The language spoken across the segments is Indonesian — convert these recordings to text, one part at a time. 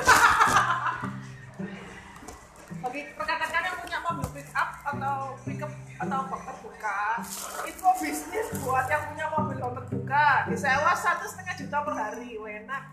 Bagi rekan-rekan yang punya mobil pick up atau pickup atau bak terbuka, itu bisnis buat yang punya mobil bak terbuka. Disewa 1,5 juta per hari, enak.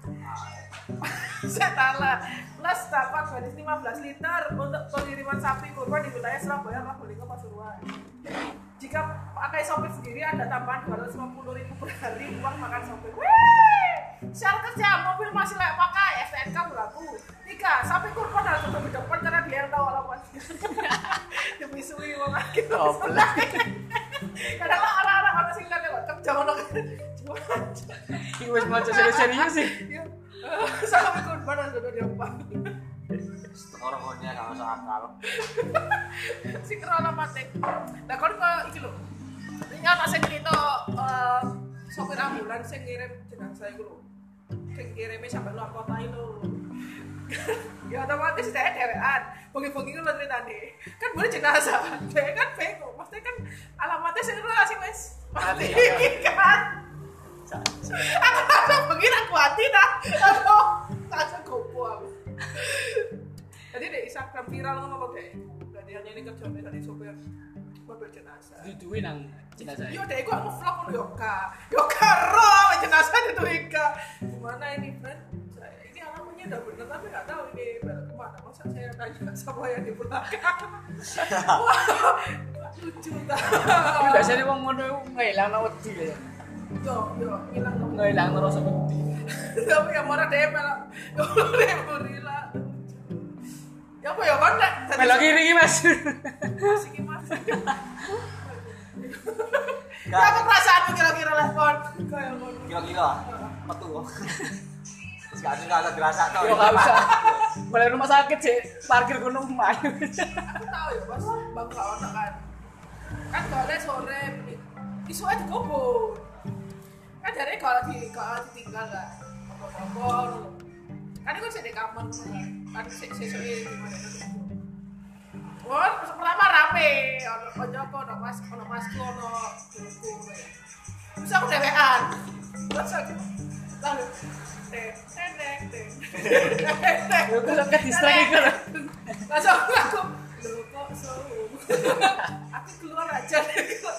Setala plus dapat bonus 15 liter untuk pengiriman sapi kurban di wilayah Surabaya, Probolinggo, Pasuruan. Jika pakai sopir sendiri ada tambahan 250.000 per hari uang makan sopir. Wih! Syarat kerja mobil masih layak pakai, STNK berlaku. 3. Sapi kurban harus tetap di depan karena dia yang tahu alamat. Demi suwi wong akeh. Kadang orang-orang ana sing lihat kok kerja ngono kan. Iki wis maca serius sih. Sapi kurban harus tetap di depan. Orang konya gak masuk akal. Si kero alamate. Lah kon kok iki lho. Ini ana sing cerita sopir ambulans sing ngirim jenazah iku lho. Sing kirime sampai luar kota itu. Ya otomatis dia dewean. Bengi-bengi ku lho ceritane. Kan boleh jenazah. Dia kan bingung. Maksudnya kan alamatnya sing ora sing wis mati kan. Aku bengi aku hati dah. Aduh, tak gopo aku. Jadi di Instagram viral ngomong apa deh? Berarti hanya ini kerjanya tadi sopir mobil jenazah. Duduin nang jenazah. Yo deh, gua nge-vlog ngono yo roh jenazah itu Ika. Gimana ini, friend? Ini alamatnya udah bener tapi nggak tahu ini balik kemana. Masa saya tanya sama yang di belakang. Wah, lucu dah. Tapi biasanya wong ngono ngilang nang wedi ya. Yo, hilang dong. Ngilang rasa wedi. Tapi yang marah deh malah. Gorila. Ya apa ya kan nek Melok kiri iki, Mas. siki Mas. Apa perasaanmu kira-kira lah kon? Kayak ngono. Kira-kira metu. Sekarang enggak ada dirasa tau. Yo enggak usah. Balik rumah sakit sih, parkir kono omah. Aku tahu ya, Mas, bangga ono kan. Kan gole sore isu aja gobo. Kan dari kalau ditinggal lah. Apa-apa. Kan itu sih di kamar kan sesuai gimana itu. Wah, pertama rame, ono Joko, ono Masku, ono dulurku ya. Terus aku dewean. Terus aku lalu teng. Yo kok ke distrak iki lho. Langsung aku lho kok soum. Aku keluar aja dari kok.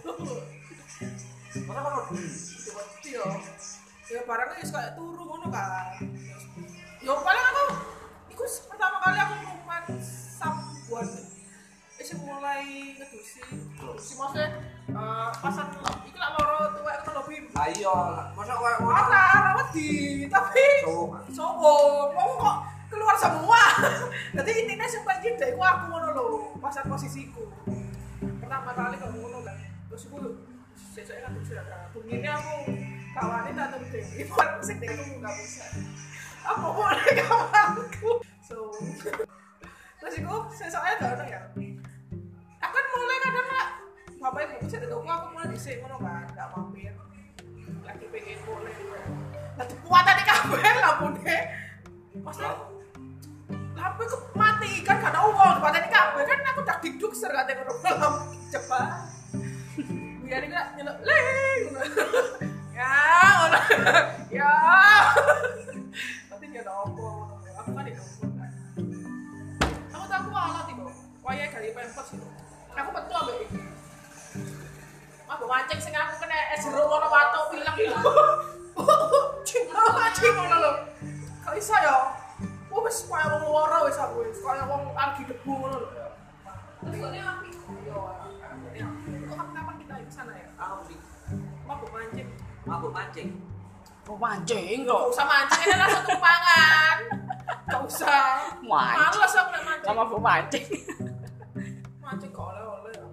Mana kalau dulu? Ya barangnya kayak turu ngono kan. Ya paling aku iku pertama kali aku ngumpan sabuan. Mulai ngedusi maksudnya pasang iki lak loro tuwek ngono lho Bim. Ayo, masa koyo ngono. Ora wedi, tapi sowo. Wong kok keluar semua. Dadi intine sing paling jeda iku aku ngono lho, pasang posisiku. Pertama kali kok ngono kan. Terus iku sesuk kan sudah bengine aku kawane tak temu Dewi. Pon sing Dewi enggak bisa. Apa boleh kawanku. So. Terus iku sesuknya gak ono ya. Aku kan mulai kadang lah bapak ibu bisa ditemukan aku mulai disini ngono kan gak mampir lagi pengen boleh nanti kuatan di kabel lampu deh maksudnya lampu itu mati kan gak ada uang kuatan di kabel kan aku tak diduk sergatnya ngono lampu cepat biar ini gak nyelok leng ya ngono ya nanti dia ada apa aku kan ditemukan kan aku tak kualat ibu waya kali pempes itu aku betul ambek iki. Mabuk mancing sing aku kena es jeruk ngono watuk pilek iki. Cing ngono lho. Kok iso ya? Wis koyo wong loro wis aku wis koyo wong lagi debu ngono lho. Terus kok api. Yo. Kok kapan kita ke sana ya? Aku sih Mabuk mancing. mabuk mancing. Kok mancing Gak kok. usah mancing ini langsung tumpangan. Gak usah. Mancing. Males aku nek mancing. Sama bu mancing. Mancing kok oleh-oleh ya.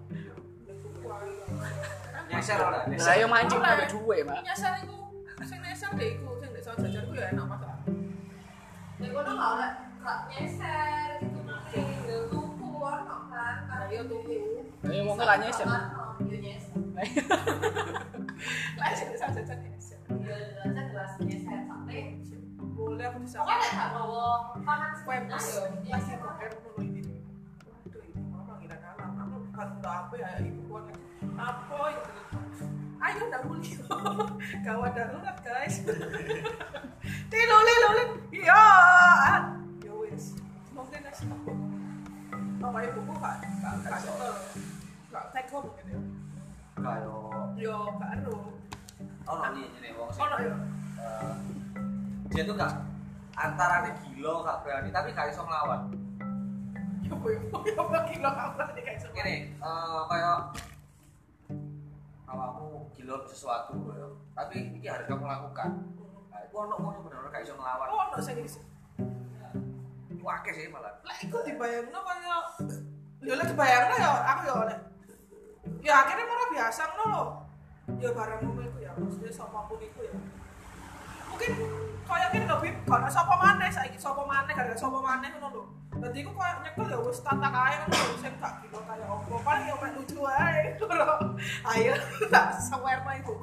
Nyeser ora? Lah yo mancing pakai duwe, Mak. Nyasar iku sing nyasar deh iku sing desa jajar ku ya enak masalah. Nek kono gak oleh gak nyeser gitu mancing tuku ono kan. Iya tuku. Ayo mau ngelak nyeser. Yo nyeser. Lah sing desa jajar nyeser. Yo jajar gelas nyeser sampai boleh aku bisa. Pokoknya gak bawa pangan sepedas yo. Pasti koker ngono ini. Waduh ibu mama ngira kalah. Aku kan udah apa ya ibu kuat. Apa itu? Ayo udah mulai. Gawat darurat guys. Lulin. Iya. gak nyekel. Gak teko mungkin ya. Kayak Yo gak ero. ono ini wong sing Ono yo. dia tuh gak antarane gila gak berani tapi gak iso nglawan. Yo gila apa nih guys. Gini, kayak awakmu gila sesuatu ya. Tapi iki harus kamu lakukan. Nah, itu ono wong bener-bener gak iso nglawan. Ono sing Itu akeh sih malah. lek iku dibayangno kaya yo lek dibayangno yo aku yo lek ya akhirnya malah biasa ngono lho. Ya barang ngono iku ya mesti sapa pun iku ya. Mungkin kaya ngene lho Bib, gak sapa maneh saiki sapa maneh gara-gara sapa maneh ngono lho. Dadi iku koyo nyekel ya wis tata kae ngono lho sing gak gila kaya opo. Paling yo mek lucu ae lho. Ayo tak sawerno iku.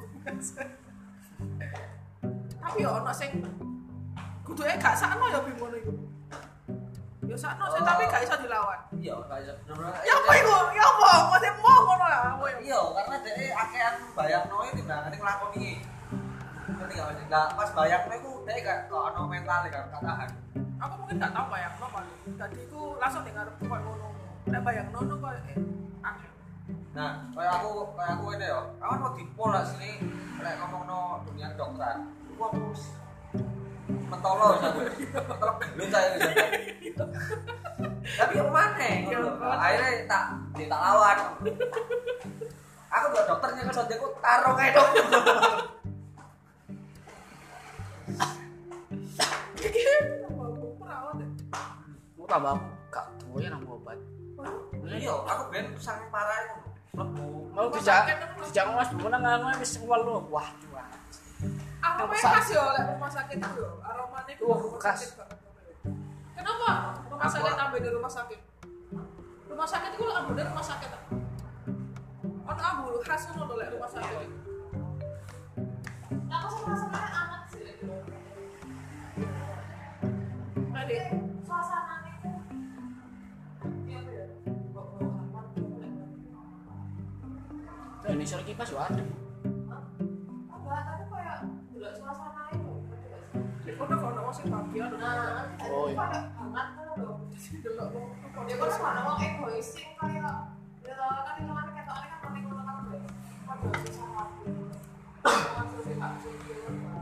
Tapi yo ono sing kuduke gak sakno ya Bib ngono iku. Ya sakno sih tapi gak iso dilawan. Iya, gak iso bener-bener. Ya apa iku? Ya apa? Mesti mau ngono ya. Iya, karena dhek akehan bayangno iki timbangane nglakoni iki. Ngerti gak Mas? Lah pas bayangno iku dhek gak ono mental gak tahan. Aku mungkin gak tau bayangno paling. Dadi iku langsung ning ngarep koyo ngono. Nek bayangno koyo angel. Nah, kayak aku ini ya. Aku mau dipol lah sini lek ngomongno dunia kedokteran. Iku aku mentolo sampe. Mentolo lu saya gitu. Tapi yang mana? Akhirnya tak lawan. Aku buat dokternya kan sondeku taruh kayak dokter. Aku tambah gak duwe nang obat. Iya, aku ben sangat parah itu. Mau dijak Mas menang wis welu. Wah. Aromanya khas yo lek rumah sakit itu yo. Aromanya itu rumah khas. sakit banget. Kenapa rumah sakit ambil di rumah sakit? Rumah sakit itu ambil dari rumah sakit. Ono ambil khas ngono lek rumah sakit. Aku sama-sama amat sih. Tadi Suasananya itu Ini sore kipas yo ada. enggak, tapi kayak delok suasana itu. ono wong sing bagian. Nah, Oh, iya. kayak banget kan lho. Delok wong Ya kan ono wong egois sing kayak ya kan itu kan ketokane kan paling ngono kan lho. Padha susah hati. Langsung sih tak suci.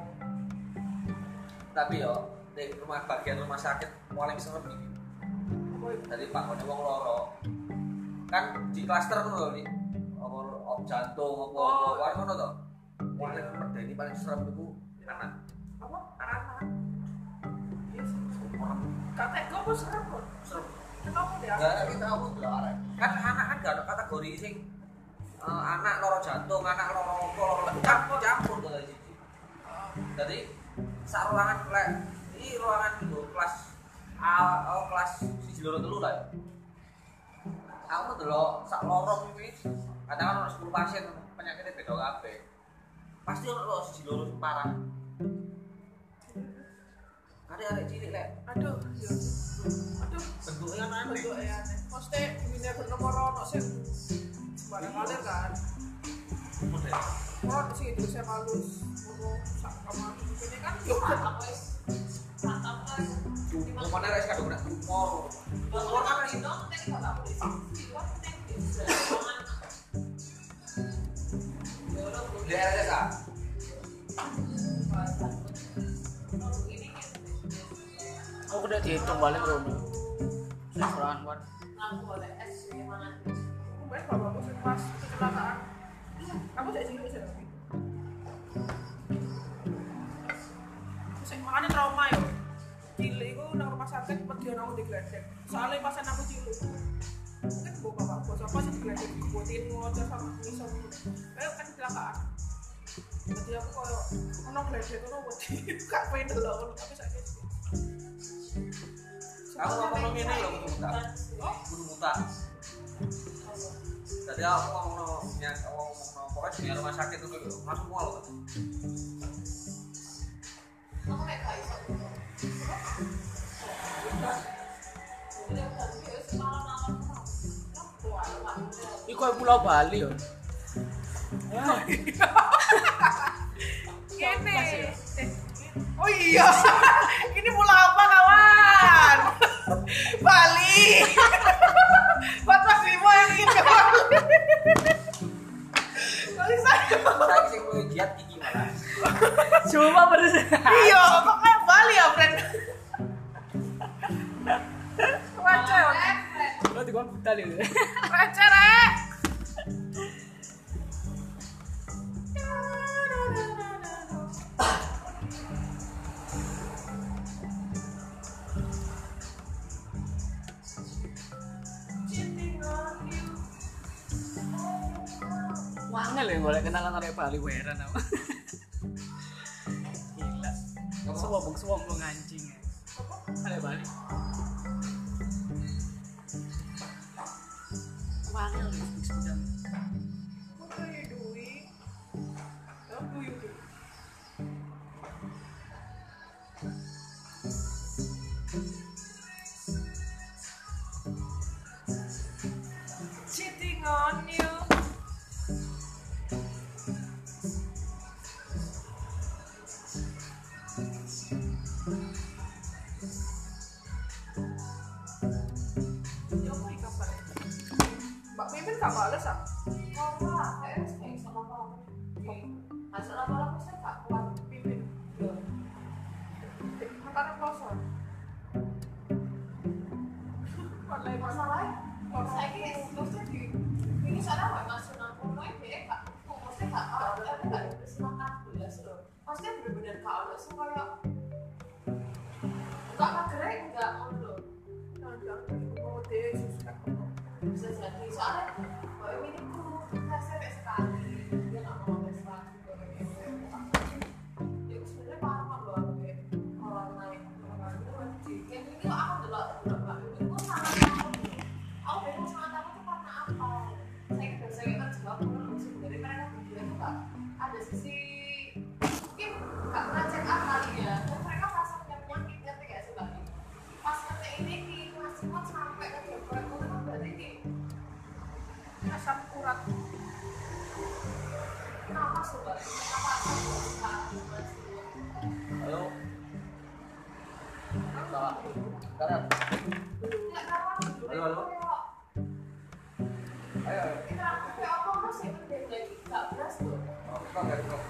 Tapi yo di bagian rumah sakit paling serem iki. Tadi Pak Kone wong loro. Kan di klaster ngono lho iki. Apa jantung apa ngono to. Paling medeni paling serem iku anak. apa? Anak. Yes. Kata kok serem kok. Serem. Kenapa dia? Enggak kita aku arek. Kan anak kan gak ada kategori sing anak loro jantung, anak loro apa, loro campur to siji. Jadi sak ruangan lek iki ruangan lho kelas kelas 1 2 3 lah. Aku delok sak lorong iki kadang ono 10 pasien penyakitnya beda kabeh. Pasti ono lho 1 2 sing parah. Arek-arek cilik lek. Aduh, ya. Aduh, Bentuknya aneh. bentuknya aneh. Maksudnya dunia bernomor ono sing sembarang kalir kan. Model. Orang sih itu saya halus, ngono sak kamar ini kan yo. Aku wis mantap kan. Mana rek kadang kena tumor. Tumor kan itu nanti enggak tahu di sini. Kan nanti di RSA. Aku udah dihitung balik Rono. Sekolah kan. aku boleh es gimana? Mungkin bapakku sing pas kecelakaan. Kamu saya sini bisa. Sing makane trauma yo. Cilik iku nang rumah sakit wedi ana aku digledek. Soale pas aku cilik. Mungkin bapakku sapa sing digledek dibuatin ngocor sama iso. Kayak kan kecelakaan. Jadi aku koyo ono gledek ono wedi. Gak pengen delok tapi saiki. Aku ngomong ngene lho kudu muta. Kudu muta. Tadi aku ngomong pokoknya di rumah sakit itu lho, langsung mual kan. Aku kayak gak iso. Iku Pulau Bali yo. Ini. Oh iya. Ini pulau apa kawan? Bali. Buat Receh. Lo di gua buta lho. Receh rek. Wangel ya golek kenalan arek Bali weran aku. Gila. Suwong anjing. Arek Bali. Wangel ya sepedang. What are you doing? What do you do? Cheating on you. Ya apa ikan balik? Mbak Mimin gak bales ah? Mimin. Makannya kloser. Wallahi Masalahnya, saya ini maksudnya ini soalnya nggak masuk nangkungnya dia nggak, maksudnya nggak dipersilakan belas loh. Maksudnya benar-benar nggak ada supaya nggak pagerai nggak loh. mau deh susah. Bisa jadi soalnya kalau ini tuh tes sampai sekali dia nggak mau tes lagi ya sebenarnya paham loh orang naik orang itu yang ini aku dulu itu sangat aku bingung sangat aku tuh karena apa saya kan juga aku sebenarnya mereka berdua itu nggak ada sisi mungkin nggak pernah check up kali ya dan mereka merasa punya penyakit ngerti gak sih Mbak? Pas ngerti ini di masih sampai ke dokter itu kan berarti ini Asam urat. kenapa coba? Kenapa Halo. Salah. Kanan. tidak kawan dulu Halo, halo. Ayo. kita kayak apa sih penting lagi nggak beras tuh Oh, kok enggak kok.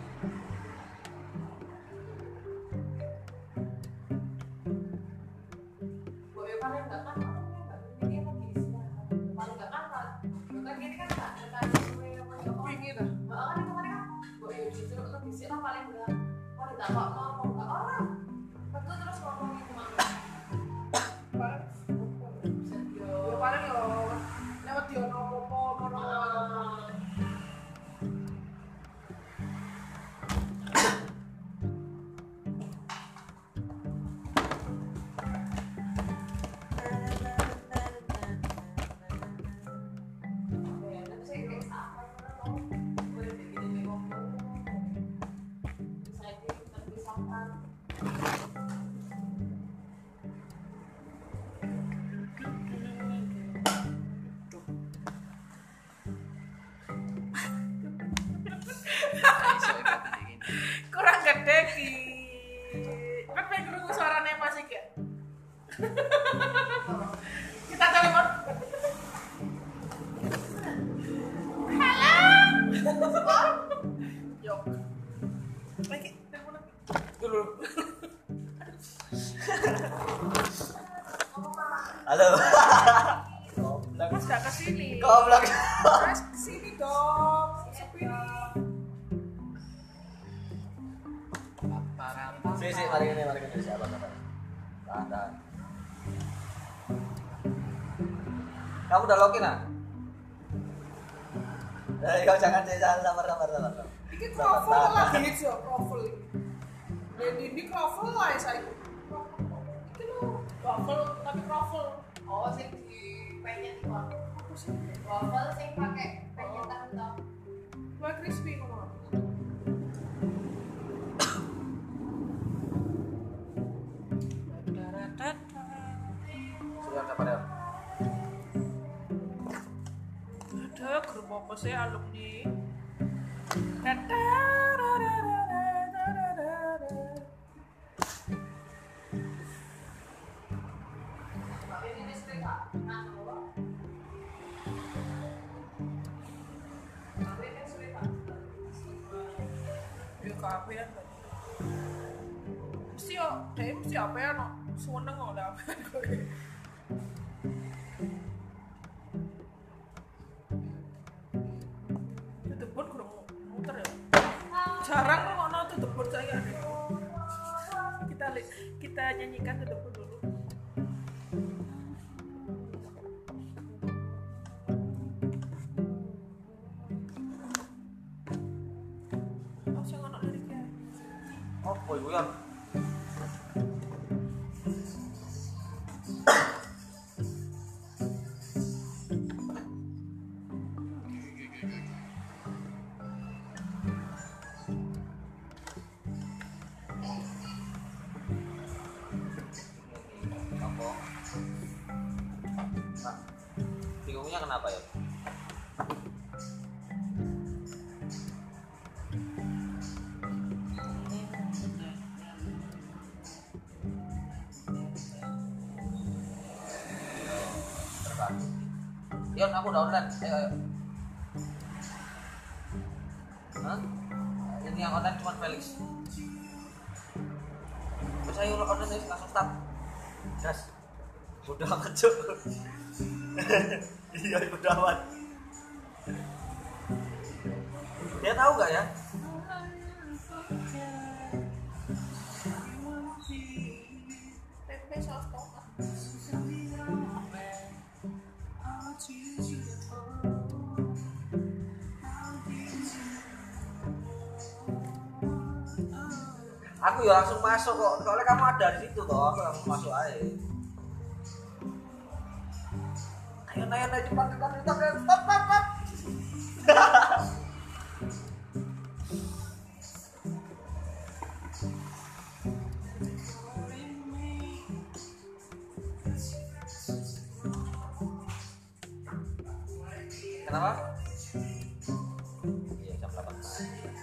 boleh paling nggak kan ini lagi istirahat paling nggak kan bukan gini kan nggak ada sesuai yang mau Pingin ah. bahkan itu kemarin kan boleh disuruh untuk istirahat paling nggak mau ditambah mau nggak orang betul terus ngomongin kemana Paling ya paling yo lewat dia nopo kurang gede ki. Kan pengen nunggu suaranya masih ya. Kita telepon. Halo. Yo. Lagi telepon lagi. Dulu. Halo. Mas gak kesini. Goblok. Mas kesini dong. Sepi. Si, mari ini siapa kata. Tahan. Kamu udah login ah? Kau jangan sabar. Ini kroffel lagi hits ya, kroffel ini. Dan ini kroffel lah ya saya. Ini lo kroffel tapi kroffel. oh sih di penyet itu Apa sih? waffle sih pakai penyetan tau Wah crispy ngomong. Sudah apa dia? Ada grup apa sih alumni? tapi ini cerita nah tapi ini cerita Ya kafe ya. Mesti yo, mesti apa ya no? Seneng kok lah kowe. Debut kurang muter ya. Jarang kok ono debut saya. Kita nyanyikan debut dulu. Oh, sing ono liriknya. Apa iku ya? Bingungnya kenapa ya? Yon, aku udah online. Ayo. Hah? Ini yang online cuma Felix. Bisa yuk online langsung start. Gas. Udah amat cuk. Iya udah amat. Dia tahu nggak ya? Tempe saus tomat. Aku ya langsung masuk kok. Soalnya kamu ada di situ toh, aku langsung masuk aja. Ayo cepat. Stop. Kenapa? Iya, jam 8 pagi.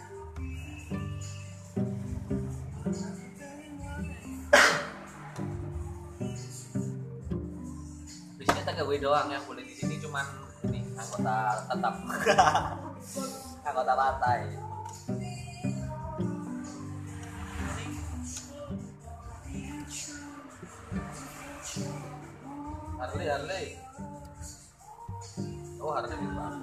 Di sini tangga gue doang yang boleh di sini cuman ini anggota tetap. Anggota partai. Harley. Oh, Harley di mana?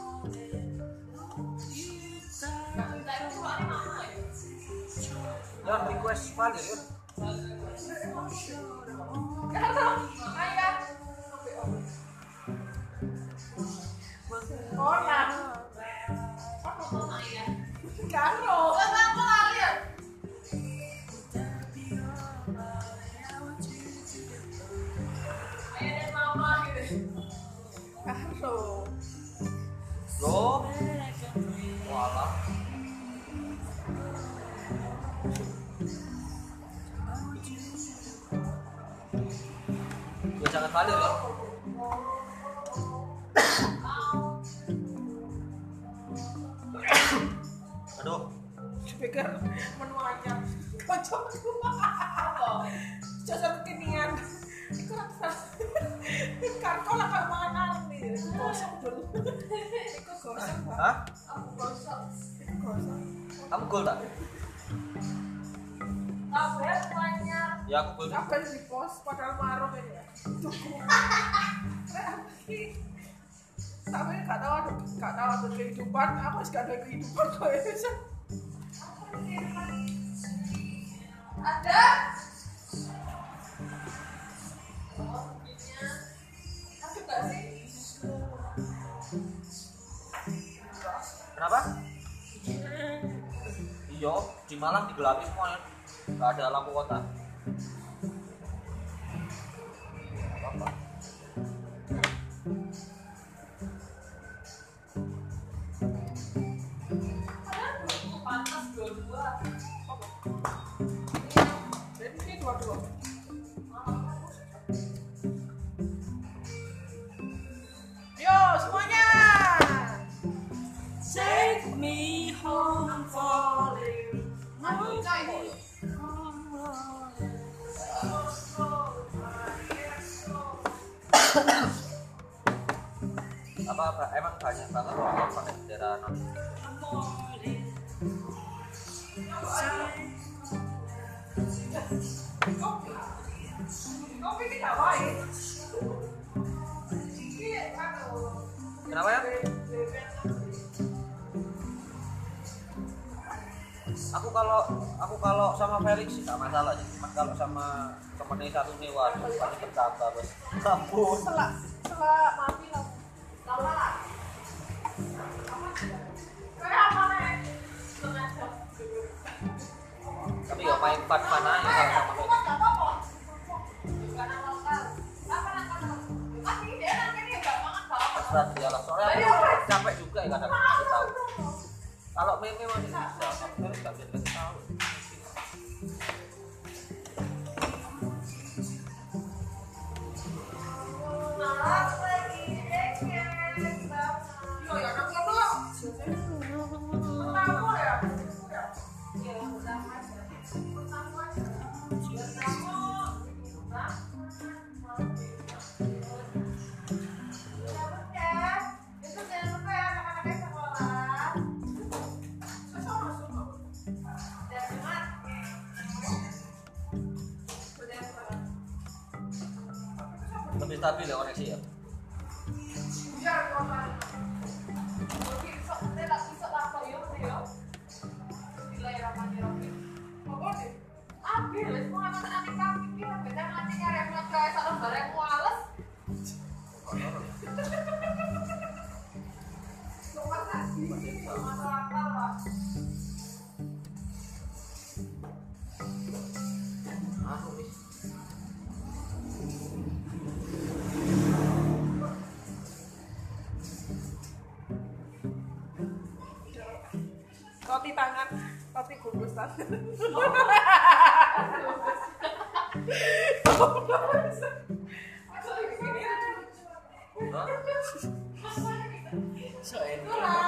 Jangan request Fadil ya. Orang. Karo. Karo. Loh. Walah. Ya jangan Fadil ya. Aduh. Pikir menu anyar. Kocok. Cocok kekinian. Kan kau lah kalau makan alam nih. Gosok dulu. Iku gosok. Hah? Aku gosok. Gosok. Kamu gol tak? Kabeh banyak. Ya aku gol. Apa yang di pos padahal marung ini ya. Tapi gak tahu ada kehidupan. Aku gak ada kehidupan kok ya. Ada. Oh, mungkinnya. Ada nggak sih? Kenapa? Iya, di Malang digelapi semuanya. Gak ada lampu kota. Apa? Padahal dulu panas dua-dua. Jadi ini dua-dua. Yo semuanya. Take me home, I'm falling. Aduh, coy. Apa emang banyak banget orang pakai bendera non. Kopi ini gak baik. Ini Kenapa ya? Aku kalau sama Felix sih gak masalah sih. Cuman kalau sama temennya satu nih waduh pasti bertambah bos. Kampus. setelah mati lah. Lama lah. Kayak apa nih? Setengah jam. Tapi ya main fun aja kalau sama Aku Felix. nggak apa-apa. Bukan awal kali. Apa? Ini dia nanti nggak banget banget. Terserah dia lah. Soalnya aku capek juga ya kadang kasih tahu. Kalau meme masih bisa, kalau Felix gak bisa kasih tahu. Yo ya nang kono. Pertama ya. Lebih stabil ya koneksi ya. Biar kota. Apa sih? Nomor lagi. Anu nih. Roti tangan, roti gugusan. Hah? So enak.